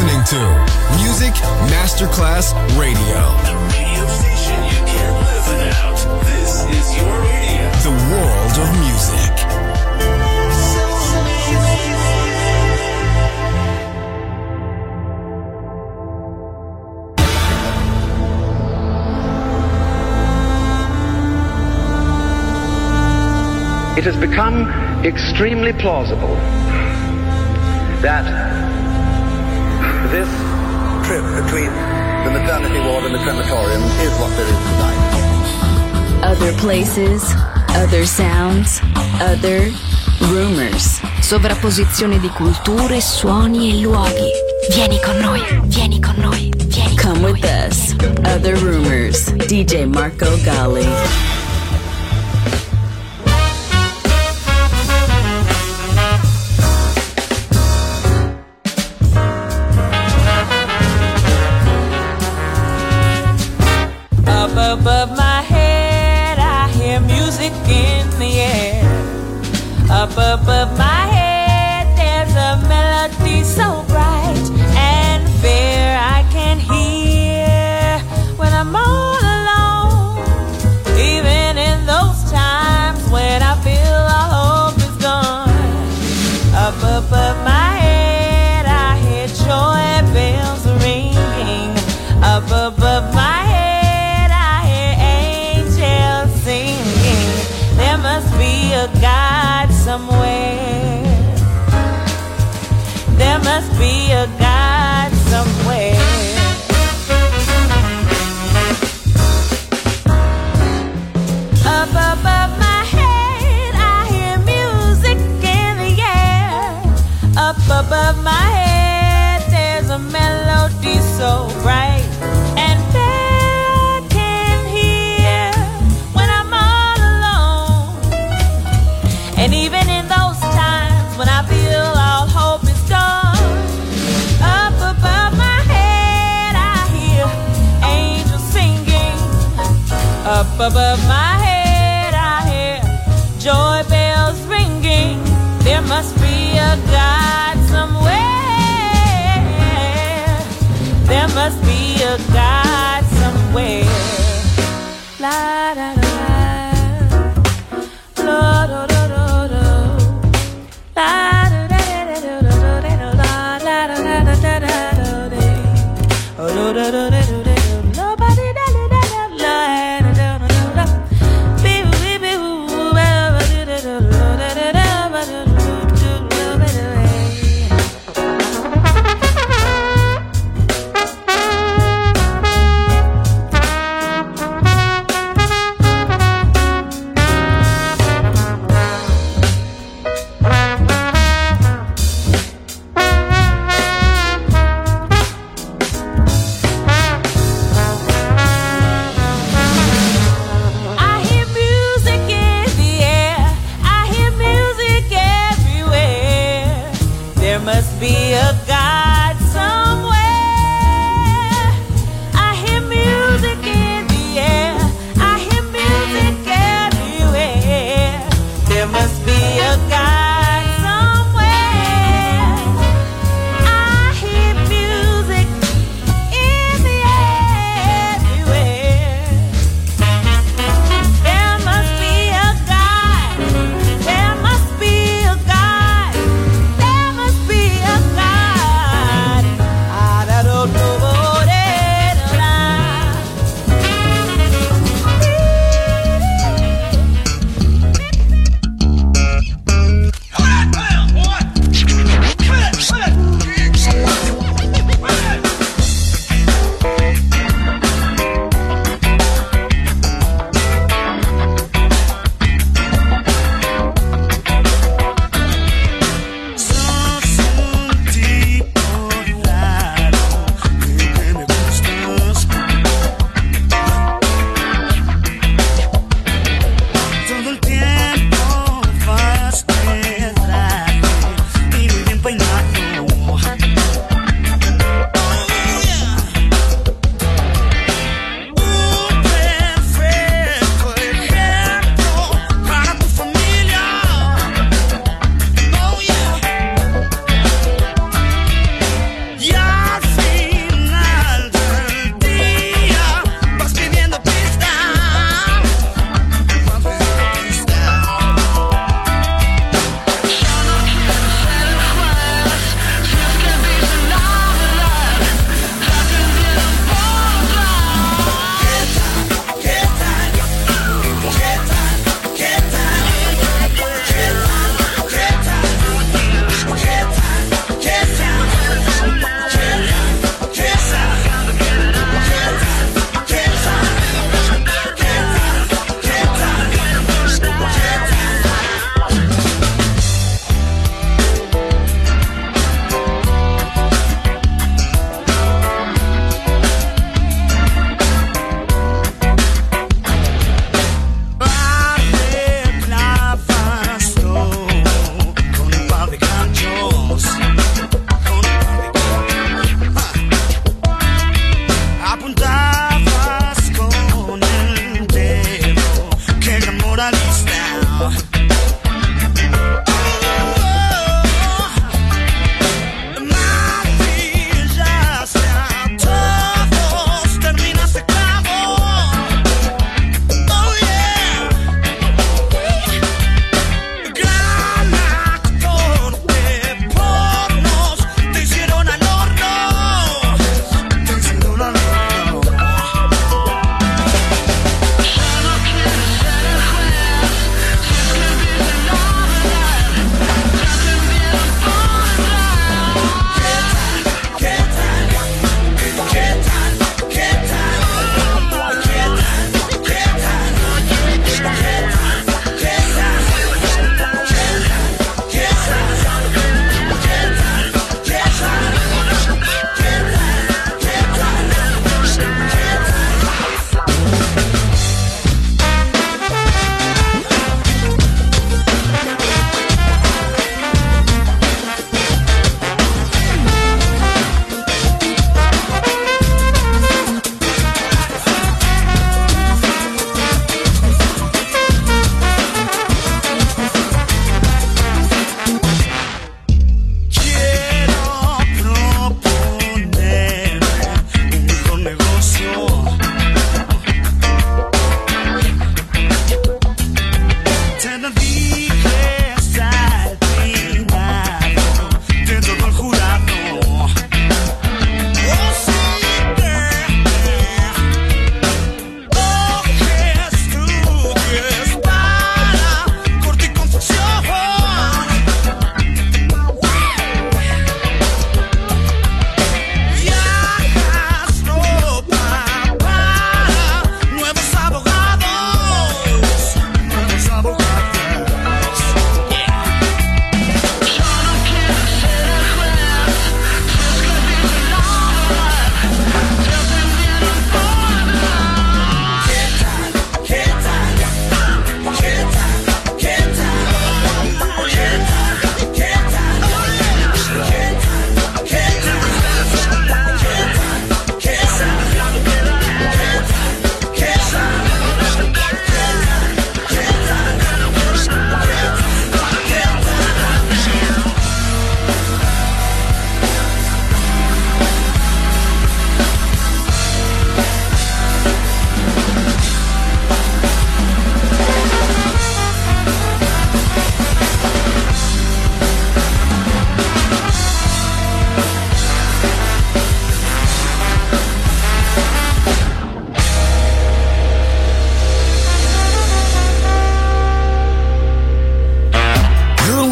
listening to Music Masterclass Radio. The radio station you can't live without. This is your radio. The world of music. It has become extremely plausible that this trip between the maternity ward and the crematorium is what there is tonight. Other places, other sounds, other rumors. Sovrapposizione di culture, suoni e luoghi. Vieni con noi, vieni con noi, vieni con noi. Come with us. Other rumors. DJ Marco Gally. Above my head, I hear music in the air. Up above my head, there's a melody so bright and fair I can hear when I'm all alone. Even in those times when I feel all hope is gone. Up above my head, I hear joy bells ringing. Up above my head, there must be a God somewhere. There must be a God somewhere. Up above my head, I hear music in the air. Up above my head, there's a melody so bright. And even in those times when I feel all hope is gone, up above my head I hear angels singing. Up above my head I hear joy bells ringing. There must be a God somewhere. There must be a God somewhere. La da da la, la da da.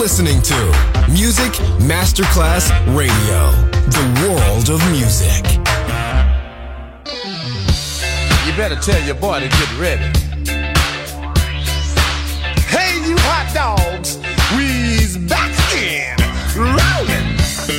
listening to Music Masterclass Radio, the world of music. You better tell your boy to get ready. Hey, you hot dogs, we's back again, rolling.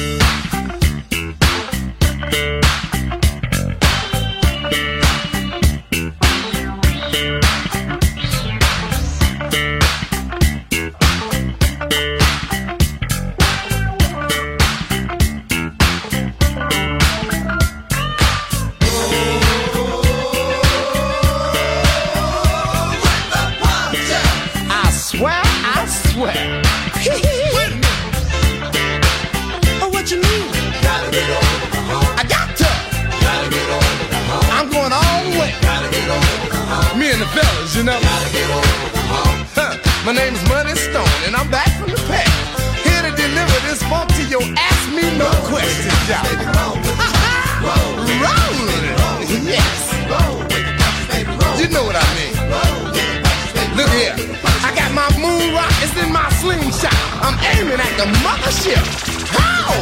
Fellas, you know. My name's Money Stone, and I'm back from the past. Here to deliver this funk to your ask me no questions, y'all. Rollin', yes. You know what I mean. Look here, I got my moon rockets in my slingshot. I'm aiming at the mothership. How?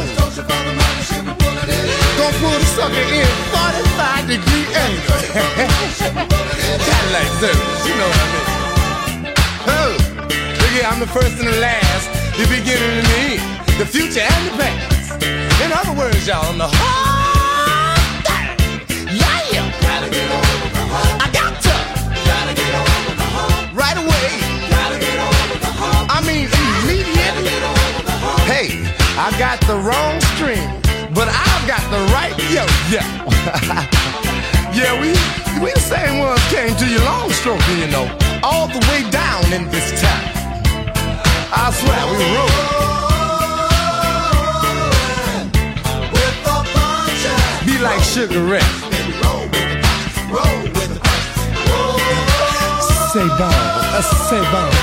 Gonna pull the sucker in 45-degree angle. Cadillac service, you know what I mean. Oh, look here, I'm the first and the last, the beginning and the end, the future and the past. In other words, y'all, I'm the whole thing. Yeah. Gotta get over the hump. I got to. Gotta get over the hump. Right away. Gotta get over the hump. I mean, immediately. Hey, I got the wrong string, but I've got the right yo. Yeah, we the same ones came to your long stroking, you know, all the way down in this town. I swear we rollin' with the punches. Be like Sugar Ray. Roll with the punches. Say bon.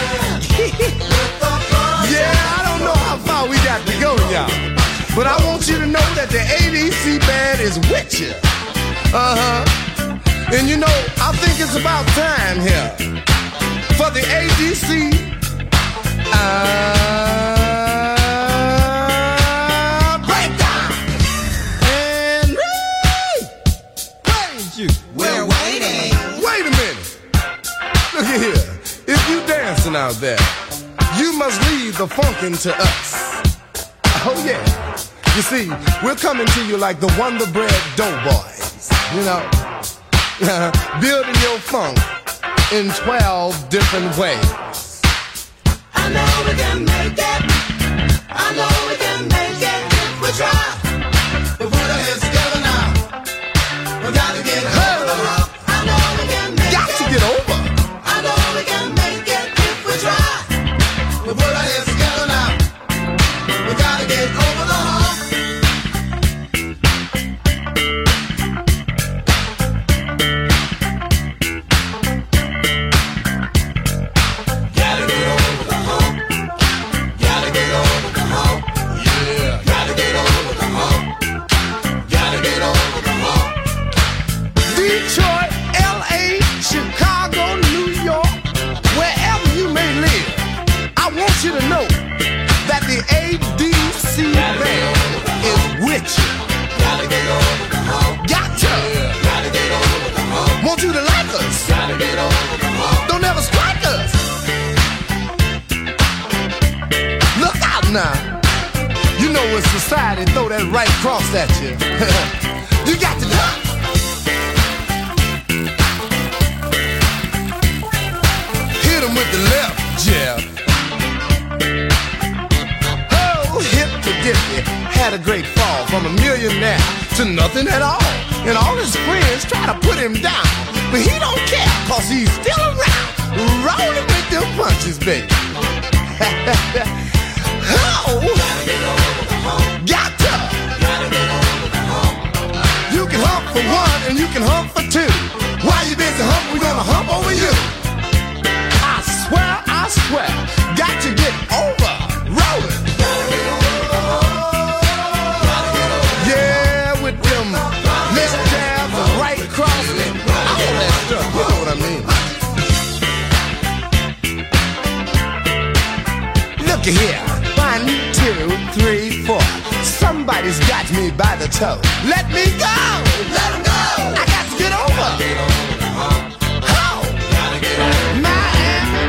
Yeah, I don't know how far we got to go, y'all, but I want you to know that the ADC band is with you. And you know, I think it's about time here for the ADC breakdown. And we're waiting. Wait a minute. Look at here. If you dancing out there, you must leave the funkin' to us. Oh yeah. You see, we're coming to you like the Wonder Bread Doughboys. You know, building your funk in 12 different ways. I know we can make it. I know we can make it if we try. But put our heads together now. We gotta get over the hump. I know we can make it. Got to get over. I know we can make it if we try. But put our heads together now. We gotta get over the hump. You to know that the ADC band is with you. Gotta get over the hump. Got to. Gotta get over the hump. Want you to like us. Gotta get over the hump. Don't ever strike us. Look out now. You know when society throw that right cross at you, you got to duck. Hit him with the left jab. Had a great fall from a millionaire to nothing at all. And all his friends try to put him down, but he don't care, cause he's still around, rolling with them punches, baby. Oh, got to. You can hump for one and you can hump for two. While you busy humping, we're gonna hump over you. I swear, got to get over rolling. Yeah, with them left jabs and right crossing, all that stuff, you know what I mean. Look here, 1, 2, 3, 4. Somebody's got me by the toe. Let me go! Let him go! I got to get over! Get over. Oh! Gotta get over. Miami,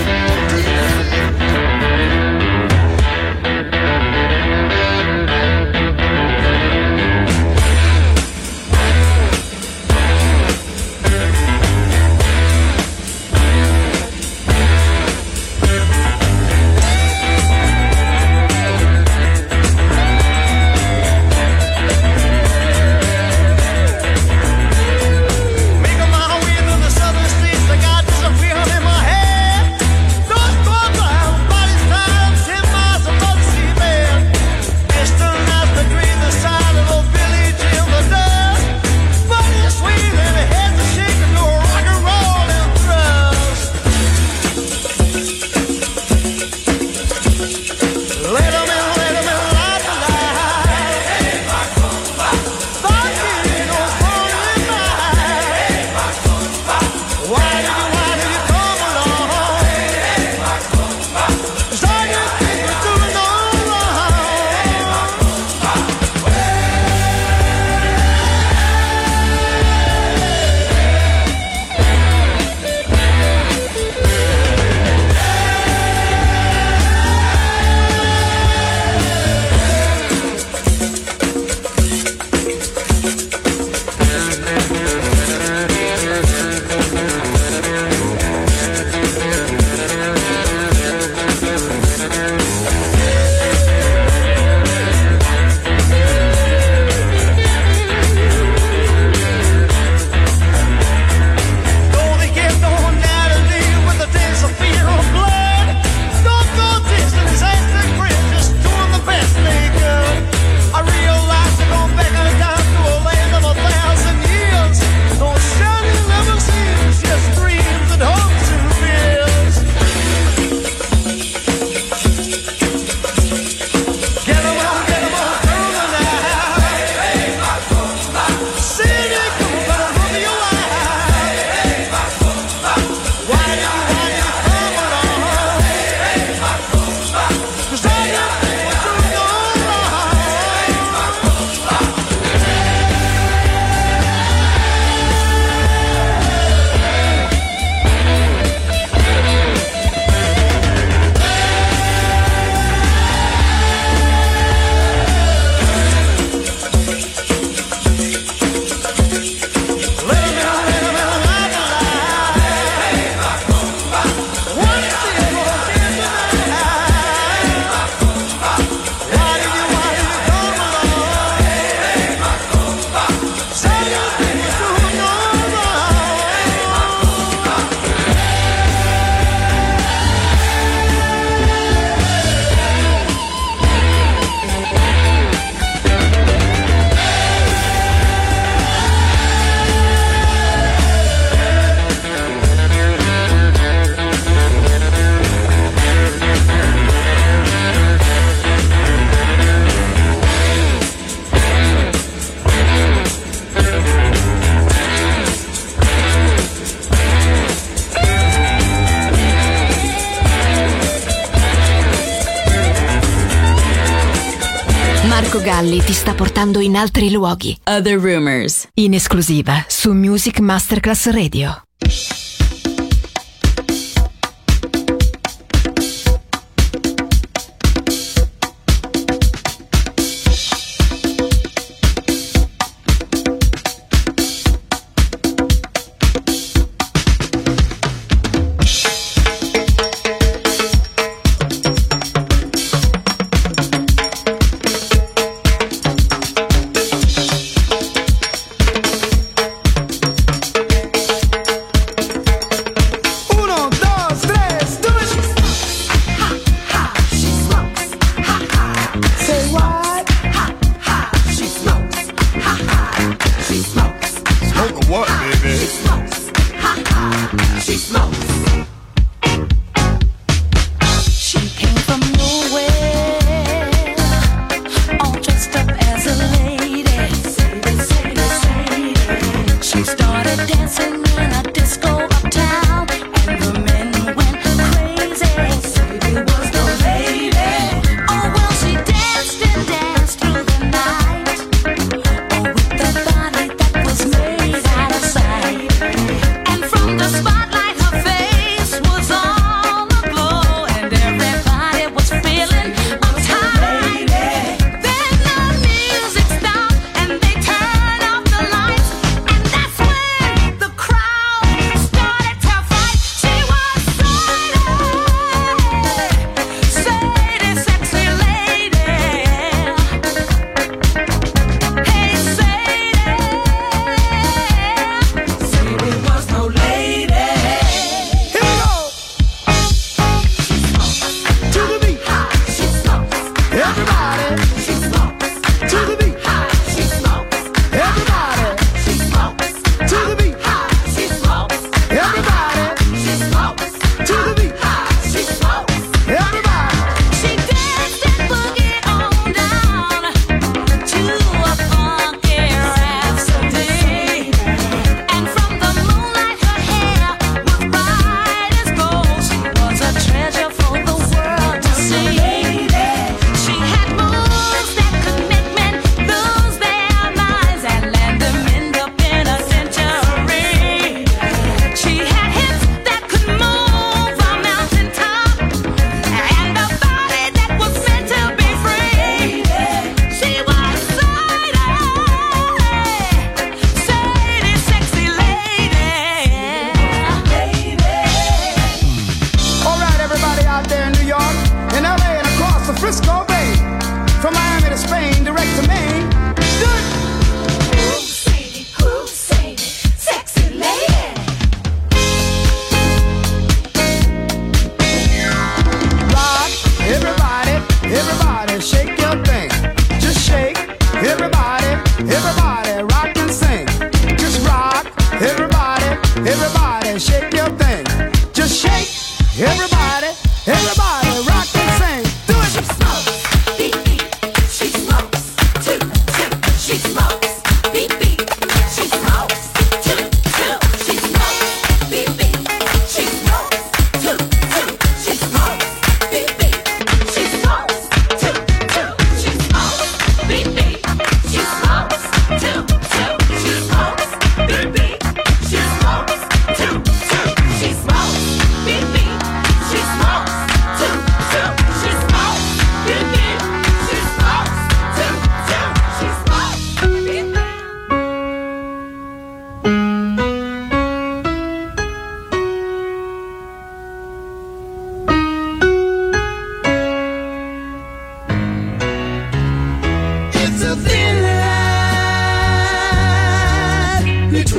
Marco Galli ti sta portando in altri luoghi. Other Rumors, in esclusiva su Music Masterclass Radio.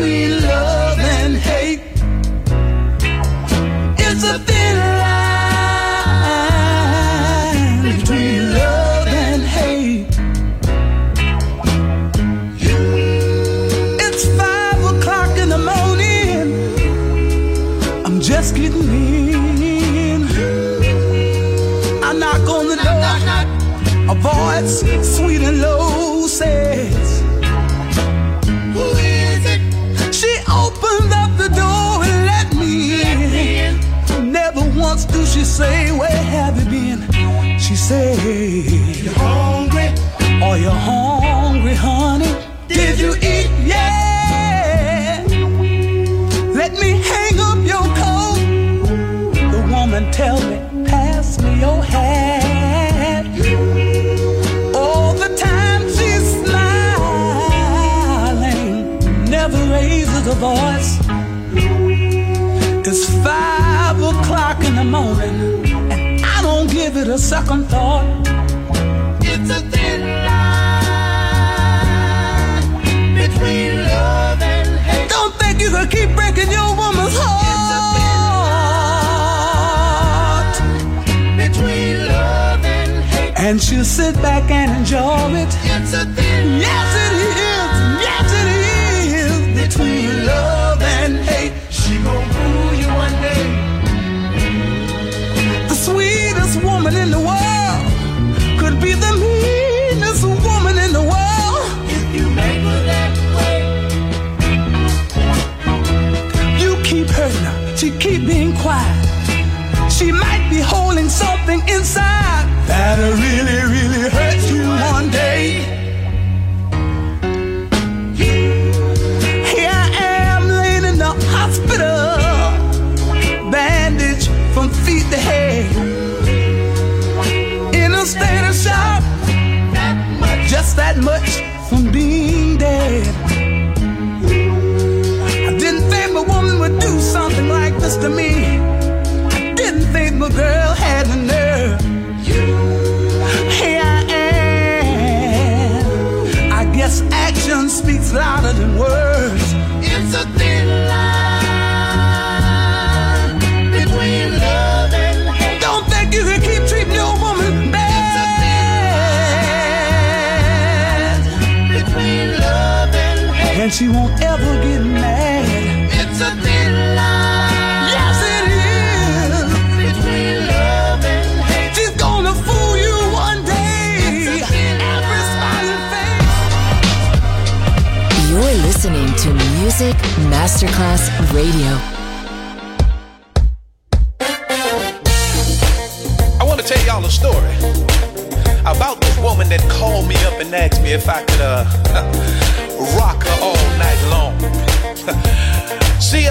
between love and hate. It's a thin line between love and hate. It's 5 o'clock in the morning. I'm just getting in. I knock on the door. A voice sweet and low says, "Who is it?" She opened up the door and let me in. Never once do she say, "Where have you been?" She said, "You hungry? Are you hungry, honey? Did you eat? Yeah. Let me hang up your coat." The woman tell me, "Pass me your hat." All the time she's smiling, never raises a voice. It's 5 o'clock in the morning, and I don't give it a second thought. It's a thin line between love and hate. Don't think you can keep breaking your woman's heart. It's a thin line between love and hate. And she'll sit back and enjoy it. It's a thin line. Yes, it is. Yes, it is. Between love and hate. She gon' fool you one day. The sweetest woman in the world could be the meanest woman in the world. If you make her that way, you keep hurting her. She keep being quiet. She might be holding something inside that'll really, really hurt you one day. Here I am laying in the hospital, bandaged from feet to head, in a state of shock, just that much from being dead. I didn't think my woman would do something like this to me. I didn't think my girl had the nerve. Here I am. I guess action speaks louder than words. It's a thin line between love and hate. Don't think you can keep treating your woman bad. It's a thin line between love and hate. And she won't ever get mad. It's a thin line. Yes, it is. Between love and hate. She's gonna fool you one day. Every smiling face. You're listening to Music Masterclass Radio. I want to tell y'all a story about this woman that called me up and asked me if I could rock her all night long. See,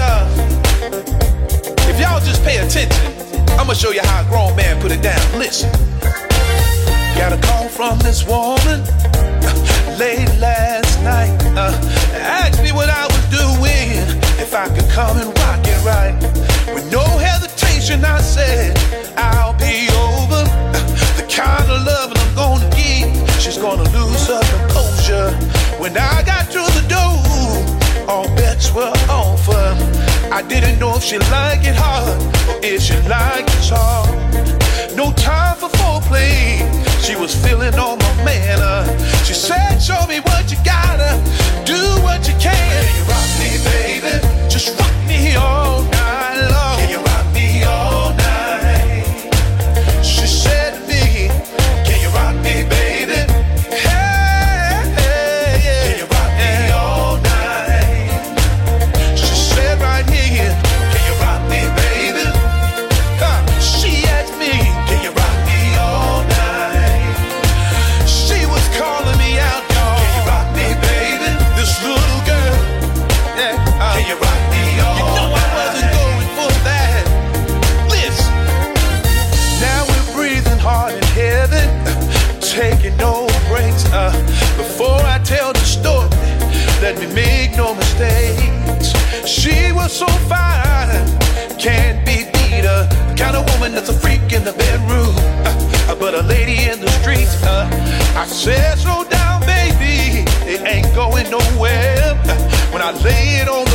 if y'all just pay attention, I'm gonna show you how a grown man put it down. Listen. Got a call from this woman late last night. Asked me what I was doing, if I could come and rock it right. With no hesitation, I said, I'll be over. The kind of love I'm gonna give, she's gonna lose her composure. When I got through the door, all bets were off. I didn't know if she liked it hard or if she liked it soft. No time for foreplay, she was feeling on my manner. She said, show me what you gotta, do what you can. Can you rock me, baby? Just rock me all night long. Can you rock me all night? She said to me, can you rock me, baby? Hey, hey, yeah. Can you rock me all night? She said right here, can you rock me, baby? She asked me, can you rock me all night? She was calling me out, y'all. Can you rock me, baby? This little girl, yeah. Can you rock me all night? You know I wasn't going for that. Listen, now we're breathing hard and heavy, taking no breaks. Before I tell the story, let me make no mistakes. She was so fine, can't be beat. Kind of woman that's a freak in the bedroom, but a lady in the streets. I said, slow down, baby, it ain't going nowhere. When I lay it on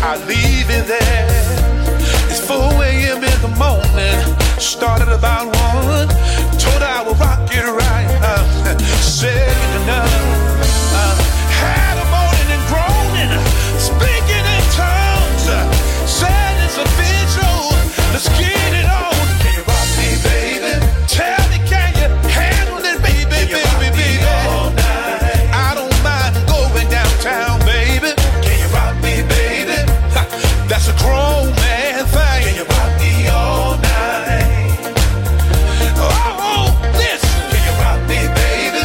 I leave it there. It's 4 a.m. in the morning. Started about 1. Told her I would rock it right. Said enough. Had a moaning and groaning, speaking in tongues. Said it's official. Let's get it on. Can you rock me, baby? Tell me, can you handle it, baby, baby, baby? All night. I don't mind going downtown, baby. Can you rock me, baby? That's a grown man thing. Can you rock me all night? Oh, listen. Can you rock me, baby?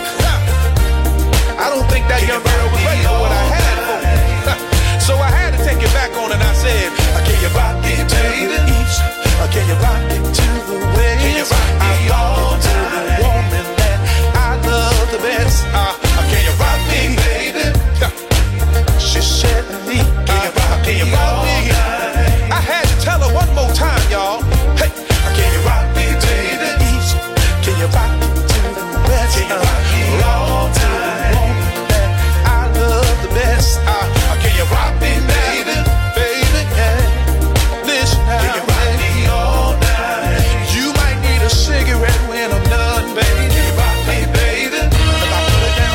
I don't think that young girl was ready for what I had for her. So I had to take it back on and I said, can you rock it to the east? Can you rock it to the west? Can you rock me all to the woman that I love the best? Can you rock me, baby? She said, can you rock me all night? I had to tell her one more time, y'all. Hey, can you rock me to the east? Can you rock it to the west? Can you rock me all to the woman that I love the best? Can you rock me, baby? Baby, yeah. Listen now, can you rock me all night? You might need a cigarette when I'm done, baby. Can you rock me, baby? If I put it down.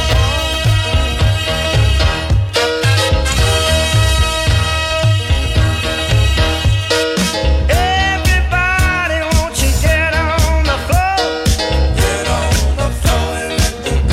Everybody, won't you get on the floor? Get on the floor and let the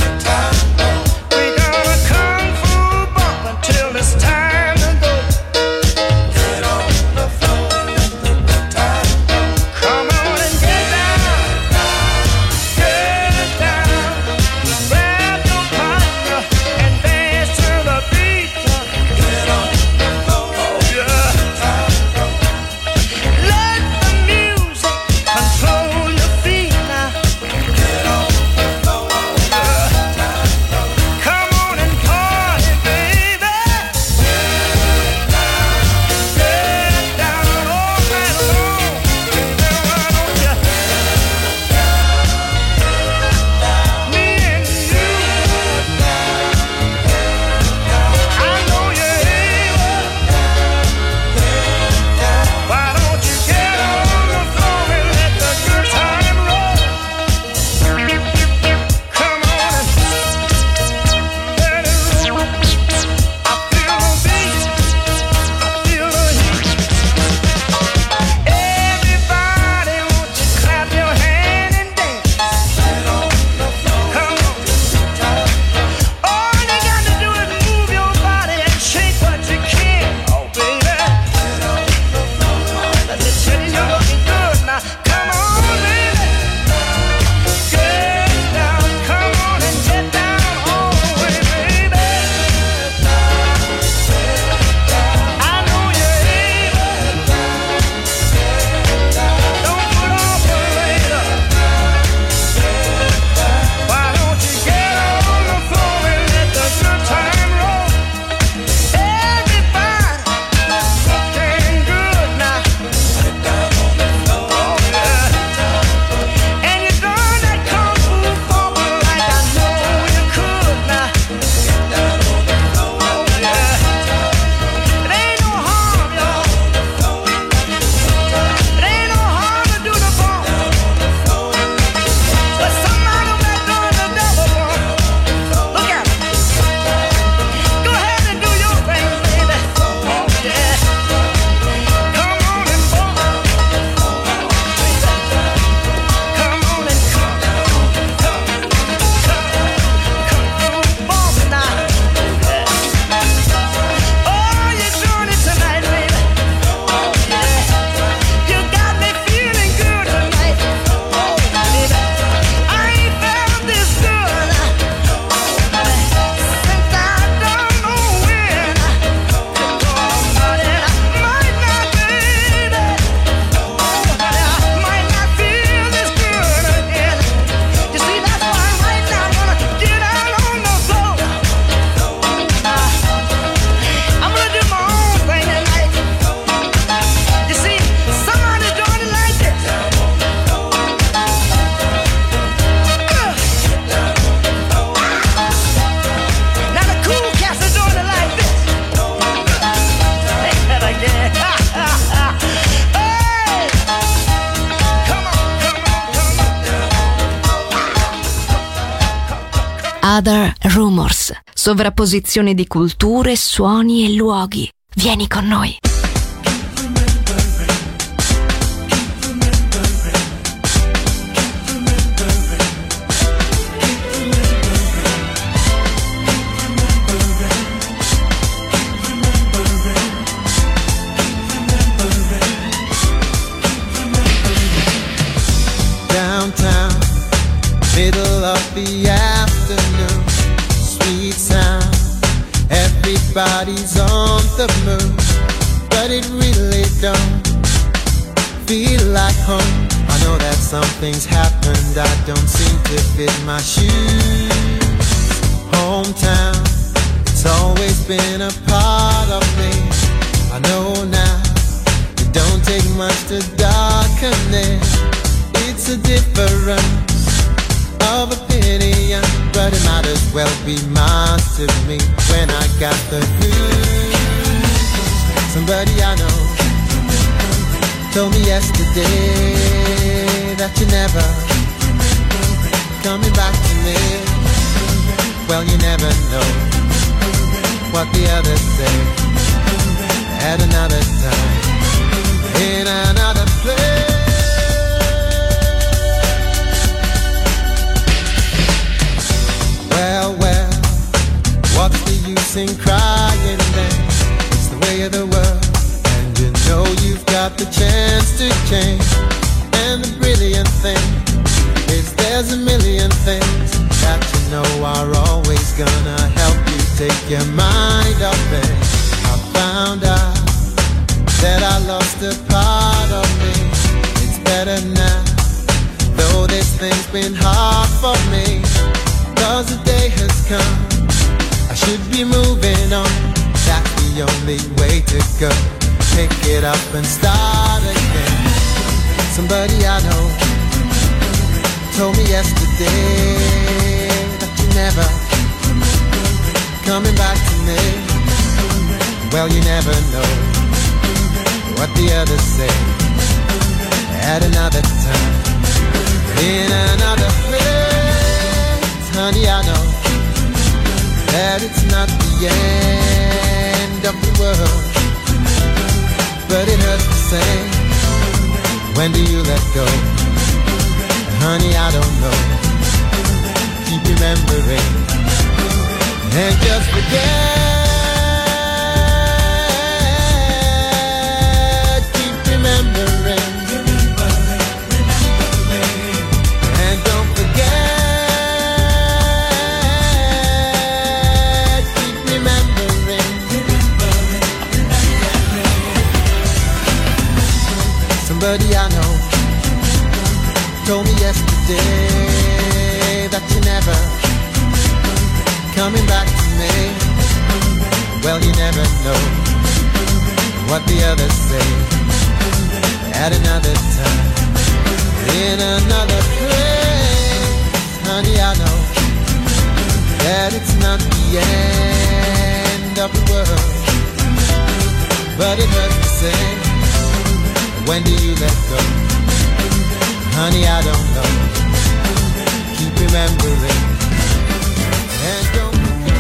Other Rumors, sovrapposizione di culture, suoni e luoghi. Vieni con noi. Downtown, middle of the afternoon, sweet sound, everybody's on the move, but it really don't feel like home. I know that something's happened, I don't seem to fit my shoes. Hometown, it's always been a part of me. I know now, it don't take much to darken it. It's a difference of opinion, but it might as well be mine to me when I got the news. Somebody I know told me yesterday that you're never coming back to me. Well, you never know what the others say at another time, in another place. Well, what's the use in crying then? It's the way of the world, and you know you've got the chance to change. And the brilliant thing is there's a million things that you know are always gonna help you take your mind off it. I found out that I lost a part of me. It's better now, though this thing's been hard for me. 'Cause the day has come, I should be moving on. That's the only way to go. Pick it up and start again. Somebody I know told me yesterday that you're never coming back to me. Well, you never know what the others say at another time, in another place. Honey, I know that it's not the end of the world, but it hurts the same. When do you let go? Honey, I don't know. Keep remembering and just forget. Keep remembering and don't forget. Somebody I know told me yesterday that you're never coming back to me. Well, you never know what the others say at another time, in another place. Honey, I know that it's not the end of the world, but it hurts the same. When do you let go? Honey, I don't know. Keep remembering and don't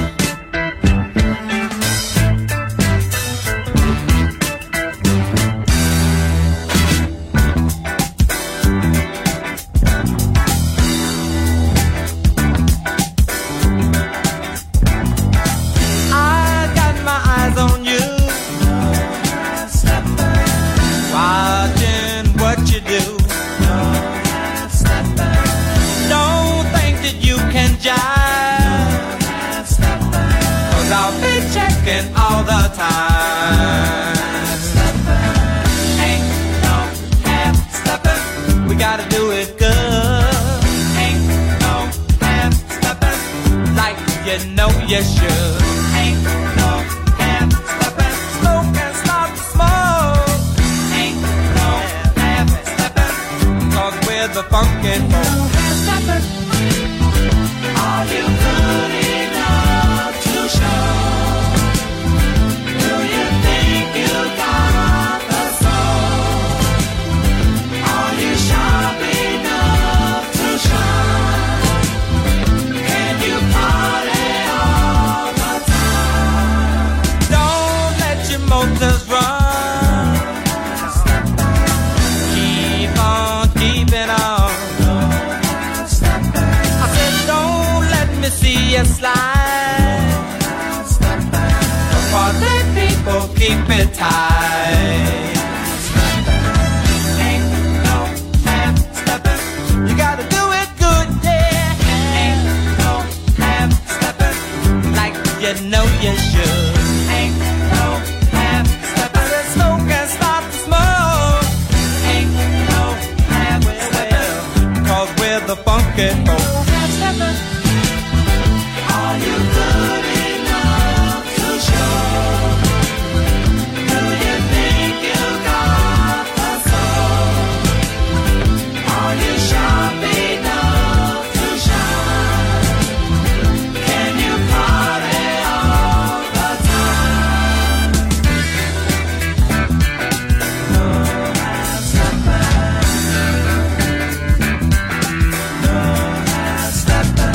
all the time. Ain't no half stepping. We gotta do it good. Ain't no half stepping. Like you know you should. Ain't no half stepping. Smoke and start to smoke. Ain't no half stepping. 'Cause we're the funky folk. No half stepping. Are you good enough to show? Sharp enough to shine. Can you find me see you slide. Party people, keep it tight. Ain't no half-stepping. You gotta do it good, yeah. Ain't no half-stepping. Like you know you should. Ain't no half-stepping. The smoke can start to smoke. Ain't no half-stepping. Cause we're the funky folk. Half-stepping. Are you good enough to show? Do you think you got the soul? Are you sharp enough to shine? Can you party all the time? No half-stepping. No half-stepping.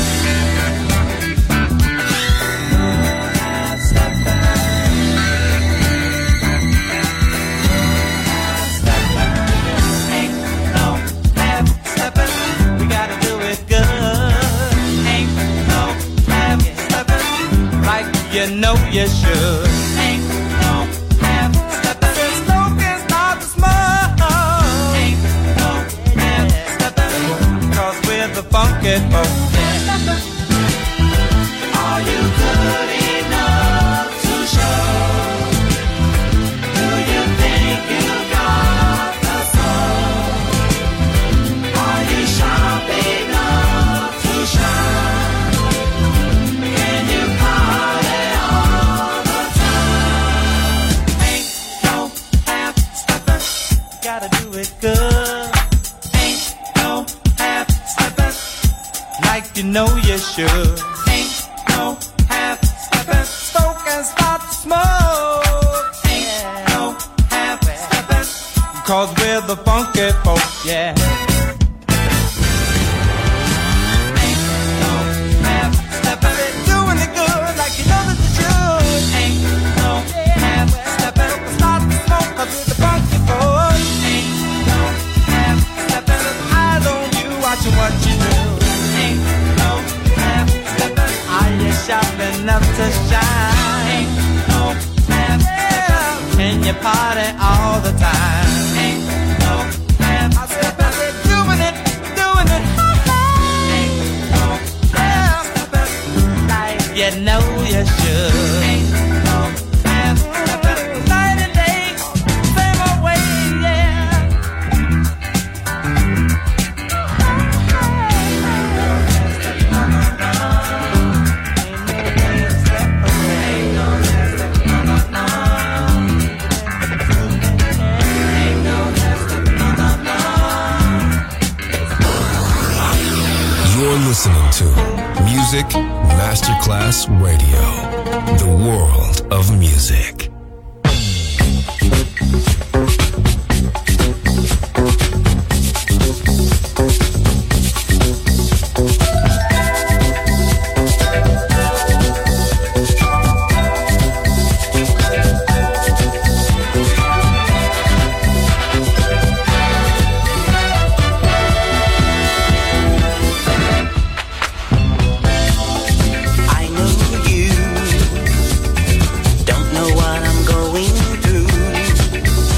You know you should. Ain't no half-stepping. The smoke can start to smoke. Ain't no half-stepping. Cause we're the funky folk. Are you good enough to show? Do you think you got the soul? Are you sharp enough to shine? Can you party all the time? Ain't no half-stepping. Gotta do it good. Ain't no half-stepping. Like you know you should. Ain't no half-stepping. Smoke and start to smoke. Ain't no half-stepping. Cause we're the funky folk, yeah. Ain't no half-stepping. Doing it good like you know that you should. Ain't no half-stepping. Start to smoke cause we're the funky folk. Ain't no half-stepping. Eyes on you watching what you do. Ain't no half-stepping. Are you sharp enough to shine? Ain't no half-stepping. Can you party all the time? Ain't no half-stepping. Doing it, doing it. Ain't no half-stepping. Like you know you should. Ain't no half-stepping. Night and day, same old way, yeah. You're listening to Music Masterclass Radio, the world of music. I know you don't know what I'm going through.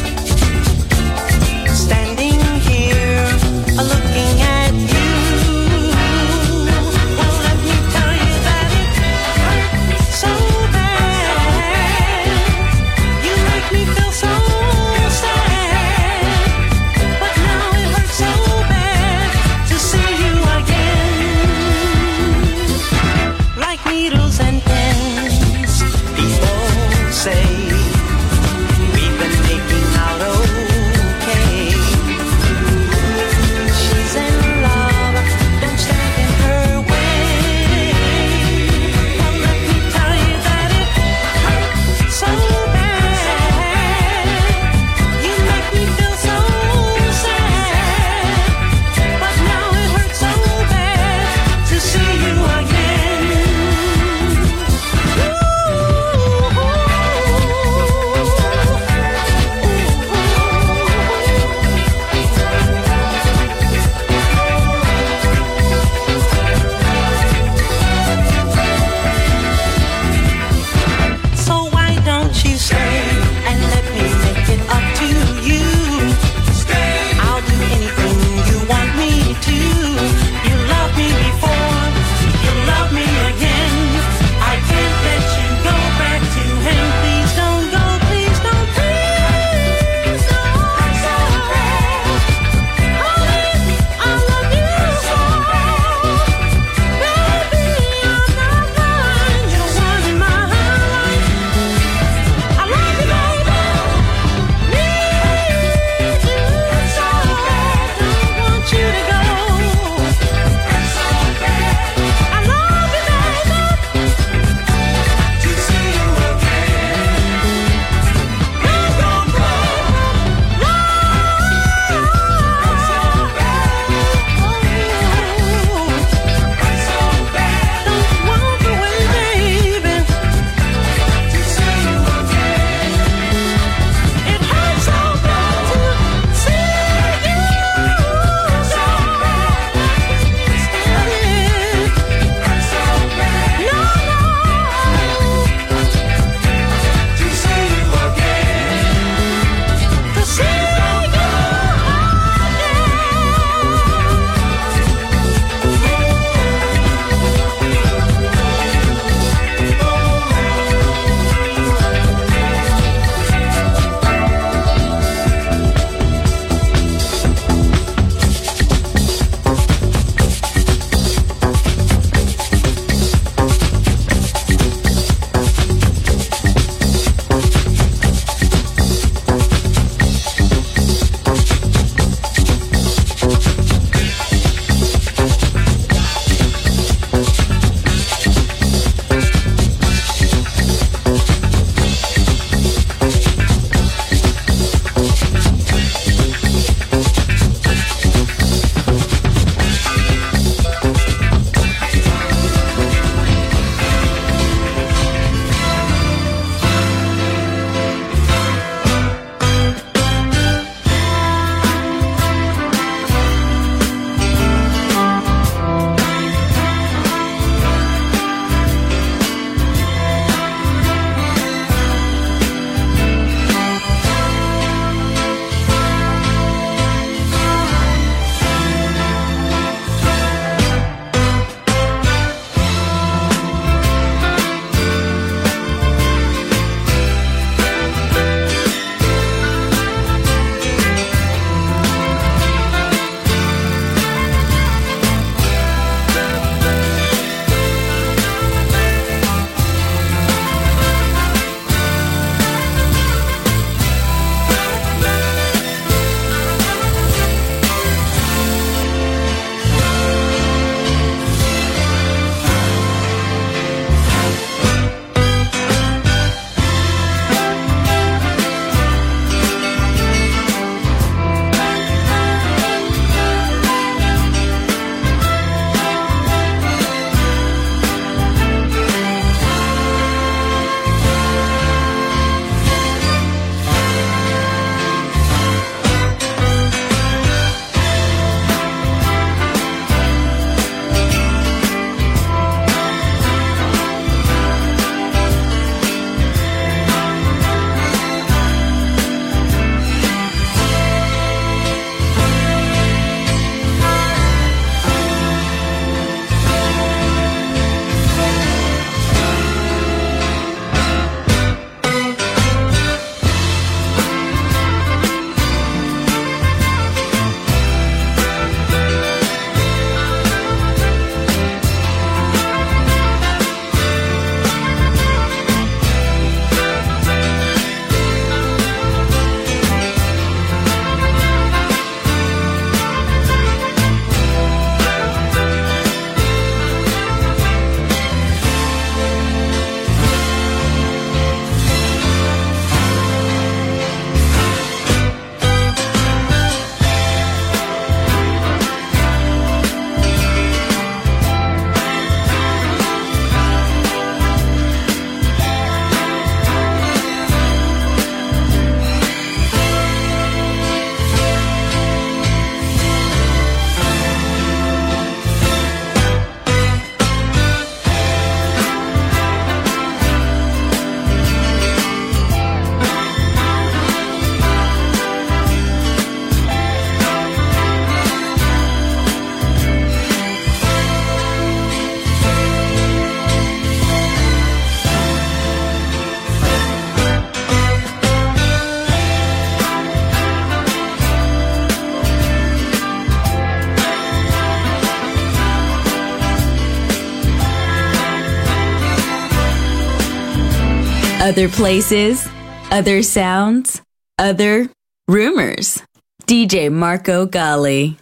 Other places, other sounds, other rumors. DJ Marco Gally.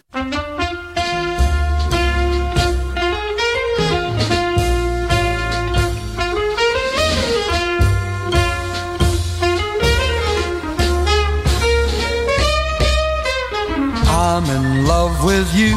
I'm in love with you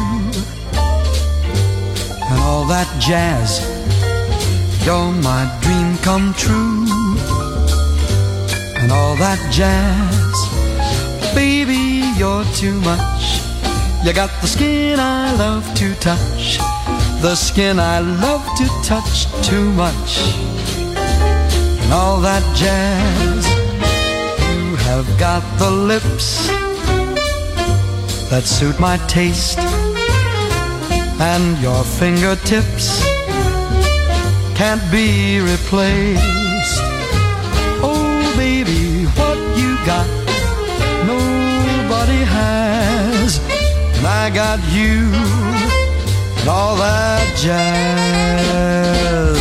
and all that jazz. You're my dream come true and all that jazz. Baby, you're too much. You got the skin I love to touch, the skin I love to touch too much and all that jazz. You have got the lips that suit my taste, and your fingertips can't be replaced. Oh baby, what you got nobody has, and I got you and all that jazz.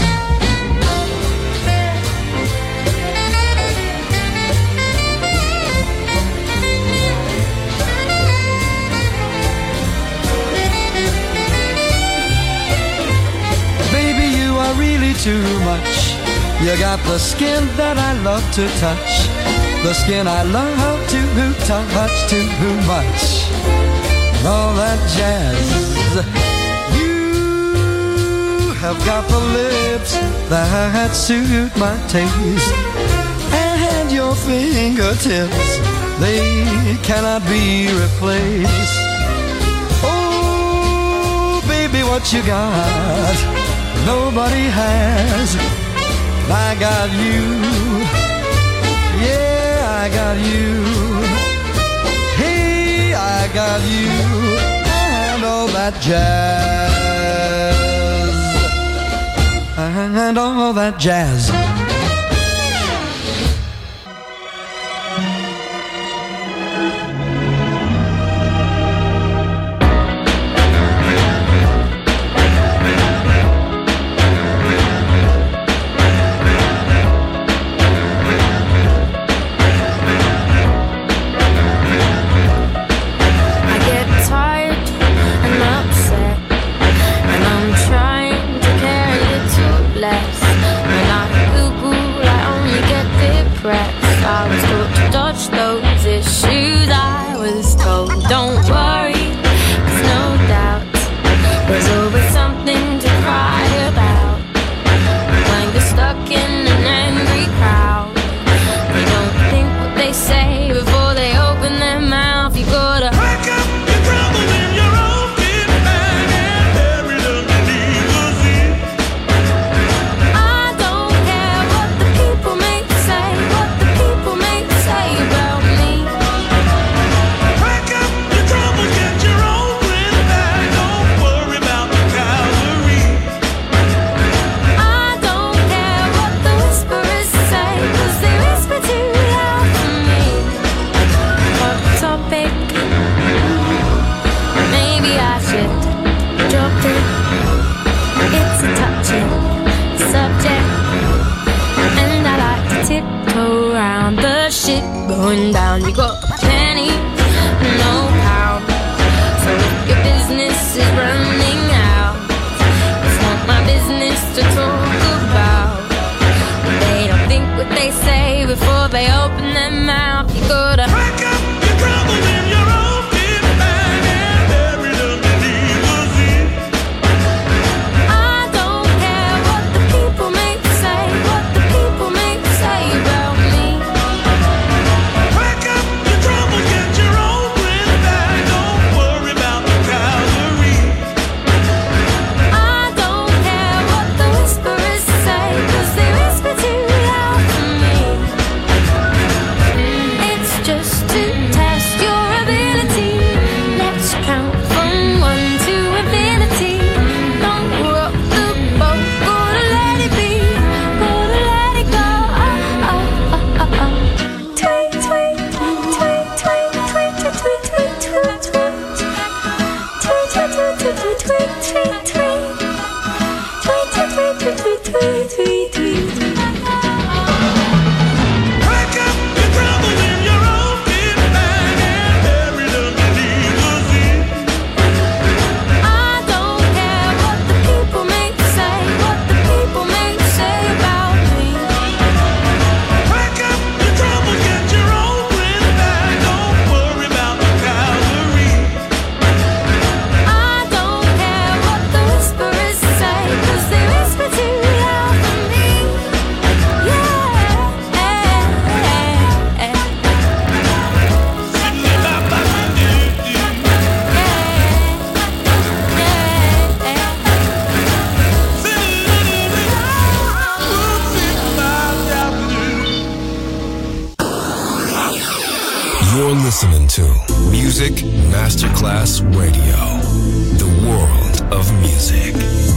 Too much. You got the skin that I love to touch, the skin I love to touch too much. All that jazz. You have got the lips that suit my taste, and your fingertips, they cannot be replaced. Oh, baby, what you got nobody has. I got you, yeah, I got you. Hey, I got you, and all that jazz, and all that jazz. listening to Music Masterclass Radio, the world of music.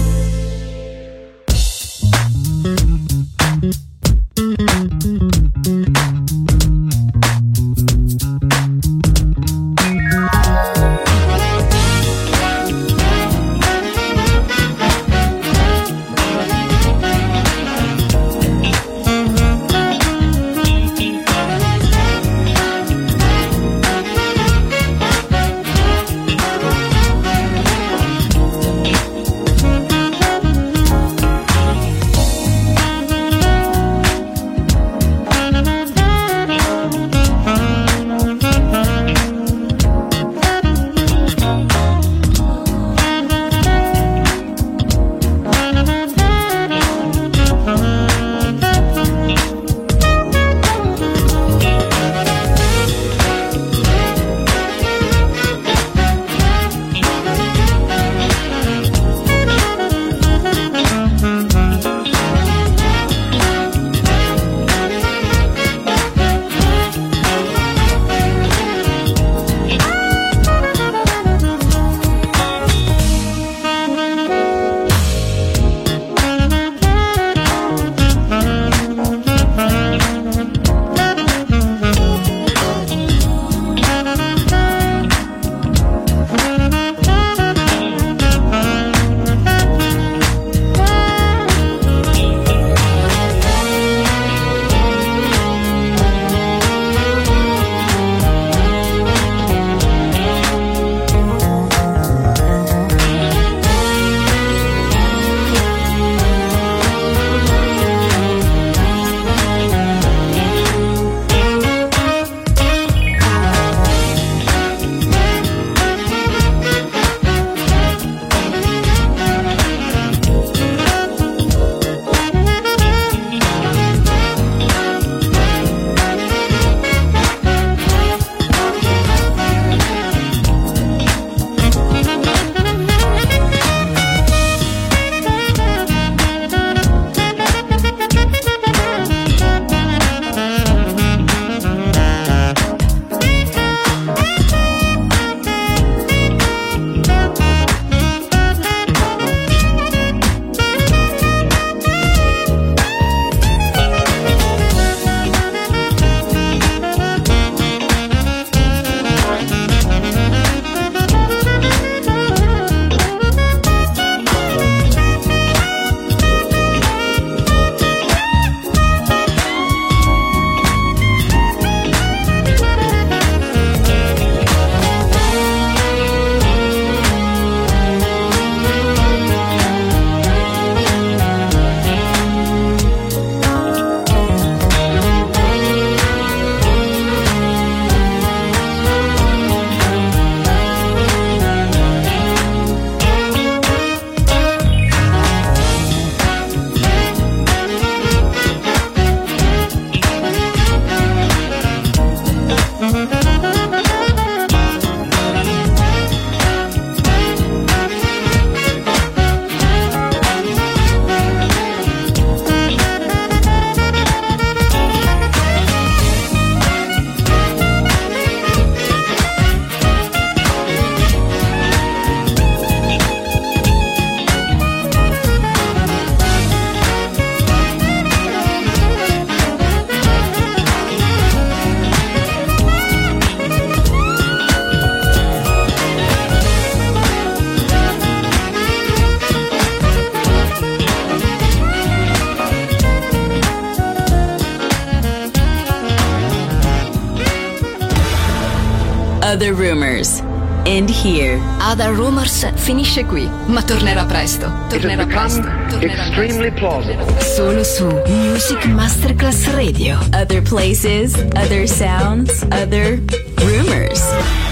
Other Rumors. End here. Other Rumors finisce qui, ma tornerà presto. Tornerà presto. Extremely plausible. Solo su Music Masterclass Radio. Other places, other sounds, other rumors.